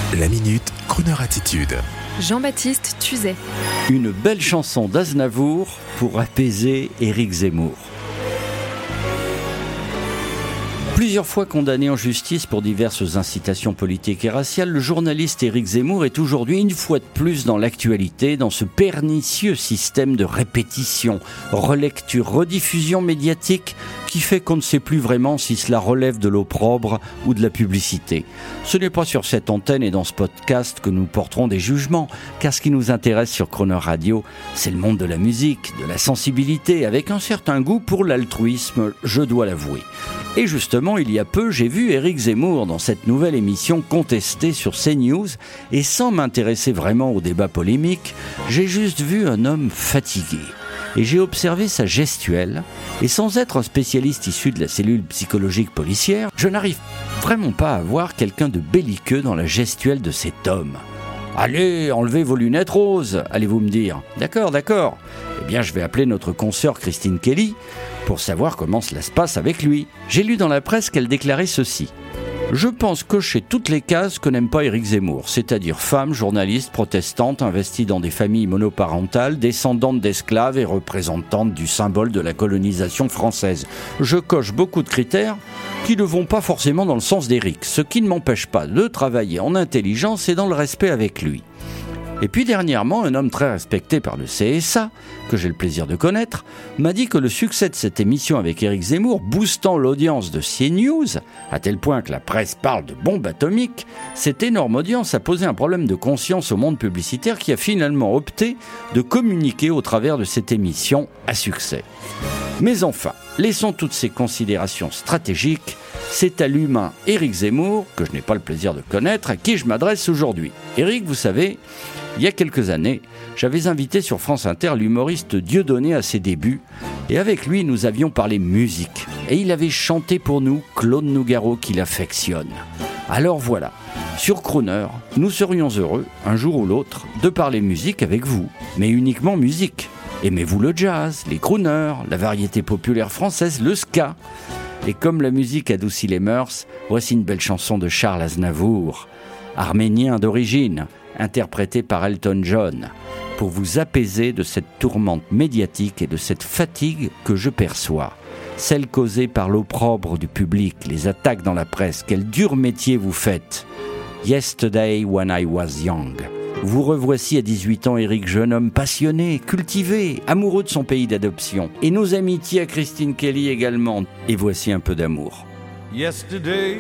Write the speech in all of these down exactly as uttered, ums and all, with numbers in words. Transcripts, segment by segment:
La Minute, Crooner Attitude. Jean-Baptiste Tuzet. Une belle chanson d'Aznavour pour apaiser Éric Zemmour. Plusieurs fois condamné en justice pour diverses incitations politiques et raciales, le journaliste Éric Zemmour est aujourd'hui une fois de plus dans l'actualité, dans ce pernicieux système de répétition, relecture, rediffusion médiatique qui fait qu'on ne sait plus vraiment si cela relève de l'opprobre ou de la publicité. Ce n'est pas sur cette antenne et dans ce podcast que nous porterons des jugements, car ce qui nous intéresse sur Crooner Radio, c'est le monde de la musique, de la sensibilité, avec un certain goût pour l'altruisme, je dois l'avouer. Et justement, il y a peu, j'ai vu Éric Zemmour dans cette nouvelle émission contestée sur CNews, et sans m'intéresser vraiment au débat polémique, j'ai juste vu un homme fatigué. Et j'ai observé sa gestuelle, et sans être un spécialiste issu de la cellule psychologique policière, je n'arrive vraiment pas à voir quelqu'un de belliqueux dans la gestuelle de cet homme. Allez, enlevez vos lunettes roses, allez-vous me dire. D'accord, d'accord. Eh bien, je vais appeler notre consoeur Christine Kelly pour savoir comment cela se passe avec lui. J'ai lu dans la presse qu'elle déclarait ceci. Je pense cocher toutes les cases que n'aime pas Éric Zemmour, c'est-à-dire femme, journaliste, protestante, investie dans des familles monoparentales, descendante d'esclaves et représentante du symbole de la colonisation française. Je coche beaucoup de critères qui ne vont pas forcément dans le sens d'Éric, ce qui ne m'empêche pas de travailler en intelligence et dans le respect avec lui. Et puis dernièrement, un homme très respecté par le C S A, que j'ai le plaisir de connaître, m'a dit que le succès de cette émission avec Éric Zemmour, boostant l'audience de CNews, à tel point que la presse parle de bombe atomique, cette énorme audience a posé un problème de conscience au monde publicitaire qui a finalement opté de communiquer au travers de cette émission à succès. Mais enfin, laissons toutes ces considérations stratégiques. C'est à l'humain Éric Zemmour, que je n'ai pas le plaisir de connaître, à qui je m'adresse aujourd'hui. Éric, vous savez, il y a quelques années, j'avais invité sur France Inter l'humoriste Dieudonné à ses débuts, et avec lui, nous avions parlé musique. Et il avait chanté pour nous Claude Nougaro qu'il affectionne. Alors voilà, sur Crooner, nous serions heureux, un jour ou l'autre, de parler musique avec vous, mais uniquement musique. Aimez-vous le jazz, les crooners, la variété populaire française, le ska? Et comme la musique adoucit les mœurs, voici une belle chanson de Charles Aznavour, arménien d'origine, interprétée par Elton John, pour vous apaiser de cette tourmente médiatique et de cette fatigue que je perçois. Celle causée par l'opprobre du public, les attaques dans la presse, quel dur métier vous faites. Yesterday when I was young. Vous revoici à dix-huit ans, Éric, jeune homme passionné, cultivé, amoureux de son pays d'adoption. Et nos amitiés à Christine Kelly également. Et voici un peu d'amour. Yesterday,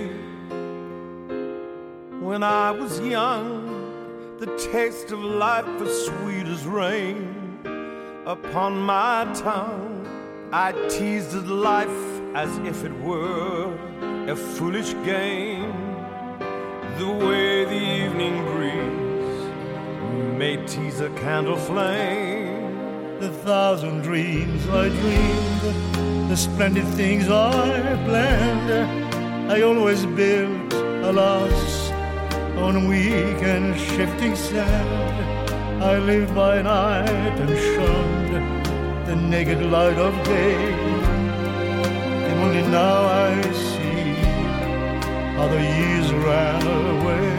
when I was young, the taste of life was sweet as rain. Upon my tongue, I teased at life as if it were a foolish game. The way the evening breeze may tease a candle flame. The thousand dreams I dreamed, the splendid things I planned, I always built, alas, on weak and shifting sand. I lived by night and shunned the naked light of day, and only now I see how the years ran away.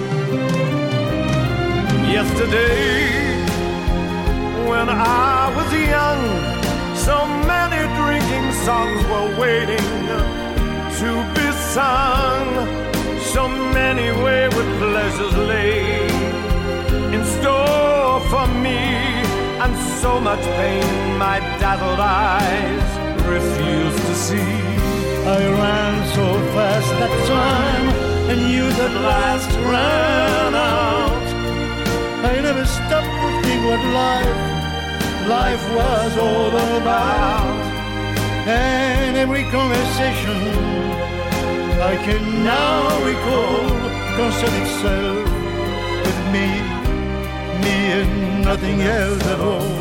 Yesterday, when I was young, so many drinking songs were waiting to be sung. So many wayward pleasures lay in store for me, and so much pain my dazzled eyes refused to see. I ran so fast that time, and youth at last ran out. I never stopped to think what life, life was all about. And every conversation I can now recall concerned itself with me, me and nothing else at all.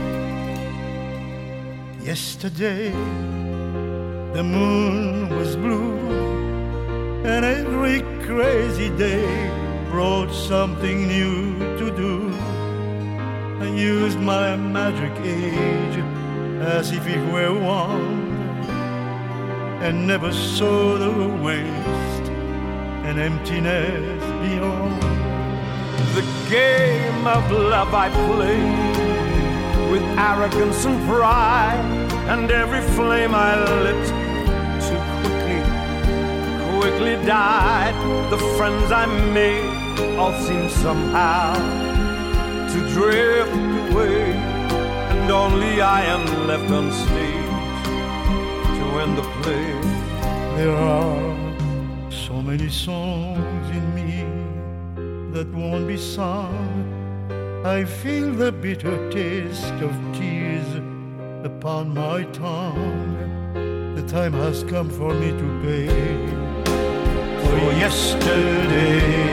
Yesterday, the moon was blue, and every crazy day brought something new to do. I used my magic age as if it were one, and never saw the waste and emptiness beyond. The game of love I played with arrogance and pride, and every flame I lit too quickly, quickly died. The friends I made all seem somehow to drift away, and only I am left on stage to end the play. There are so many songs in me that won't be sung. I feel the bitter taste of tears upon my tongue. The time has come for me to pay for yesterday.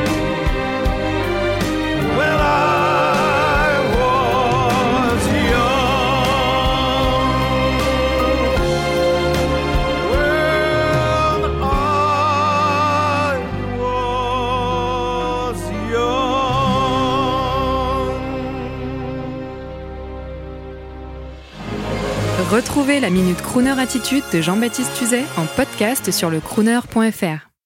When I was young, when I was young. Retrouvez la Minute Crooner Attitude de Jean-Baptiste Tuzet en podcast sur le crooner point f r.